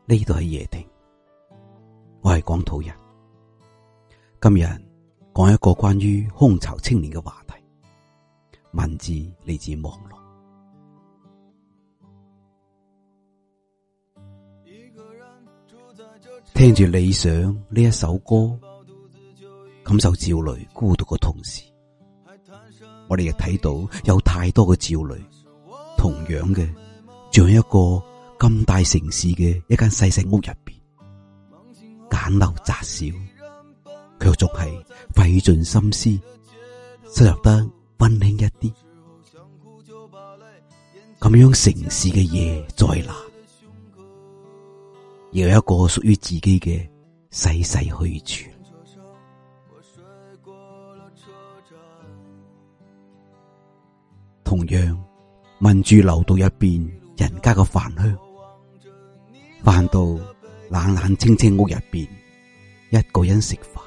呢度係夜聽，我係廣土人。今日講一個關於空巢青年嘅話題，文字嚟自網絡。聽住理想呢一首歌，感受焦慮孤獨嘅同時，我哋亦睇到有太多嘅焦慮，同樣嘅像一個咁大城市嘅一間細細屋入邊，簡陋窄小，卻仲係費盡心思，收入得溫馨一啲。咁樣城市嘅夜再難，亦有一個屬於自己嘅細細去處。同樣聞住樓道入邊人家嘅飯香，飯到冷冷清清屋入邊，一個人食飯。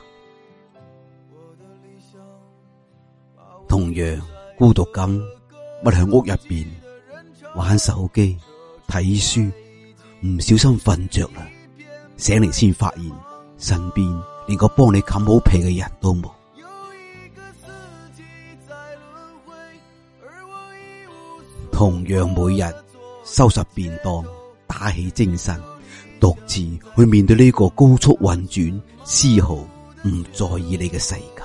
同樣孤獨咁屈喺屋入邊玩手機睇書，唔小心瞓着啦，醒嚟先發現身邊連個幫你冚好被嘅人都冇。同樣每日收拾便當，打起精神，獨自去面對呢個高速運轉，絲毫唔在意你嘅世界。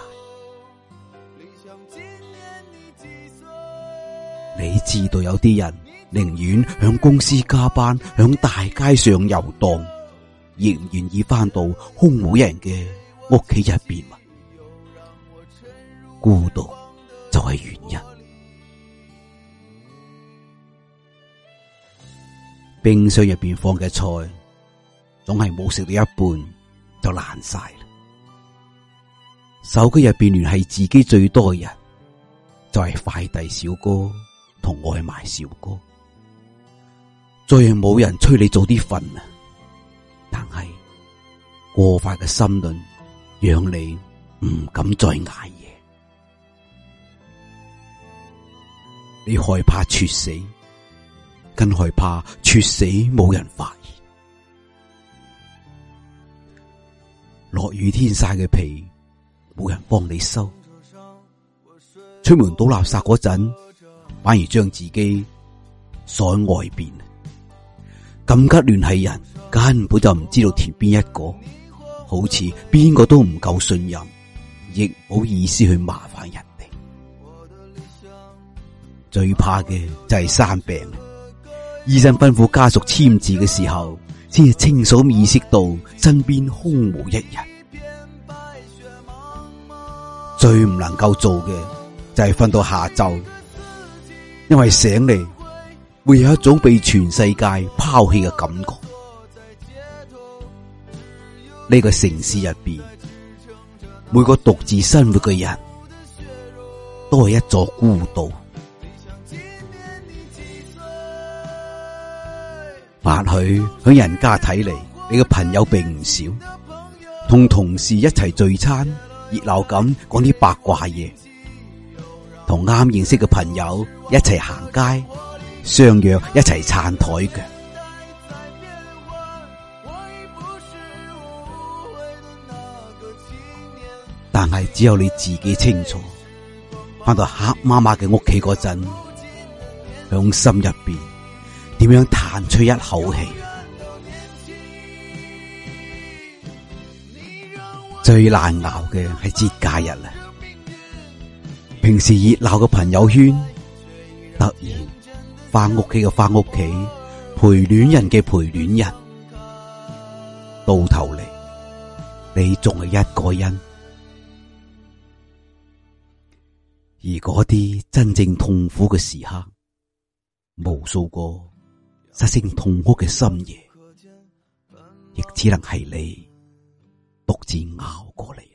你知道有啲人寧願響公司加班，響大街上遊蕩，亦唔願意翻到空無一人嘅屋企入邊。孤獨就係原因。冰箱入邊放嘅菜，總係冇食到一半就爛晒啦。手機入邊聯繫自己最多嘅人，就係快遞小哥同外賣小哥。再係冇人催你早啲瞓啊，但係過快嘅心輪讓你唔敢再捱夜。你害怕猝死，更害怕猝死冇人發現。落雨天曬嘅被冇人幫你收，出門倒垃圾嗰陣反而將自己鎖喺外邊。緊急聯繫人根本就唔知道填邊一個，好似邊個都唔夠信任，亦唔好意思去麻煩人哋。最怕嘅就係生病，醫生吩咐家屬簽字嘅時候，先至清楚意識到身邊空無一人。最唔能夠做嘅就係瞓到下晝，因為醒嚟會有一種被全世界拋棄嘅感覺。呢個城市入邊，每個獨自生活嘅人都係一座孤島。或許喺人家睇嚟，你嘅朋友並唔少，同同事一齊聚餐，熱鬧咁講啲八卦嘢，同啱認識嘅朋友一齊行街，相約一齊撐台腳。但係只有你自己清楚，翻到黑麻麻嘅屋企嗰陣，響心入邊點樣嘆出一口氣。最難熬嘅係節假日啦，平時熱鬧嘅朋友圈，突然翻屋企嘅翻屋企，陪戀人嘅陪戀人，到頭嚟你仲係一個人。而嗰啲真正痛苦嘅時刻，無數個失聲痛哭嘅深夜，亦只能係你獨自熬過嚟。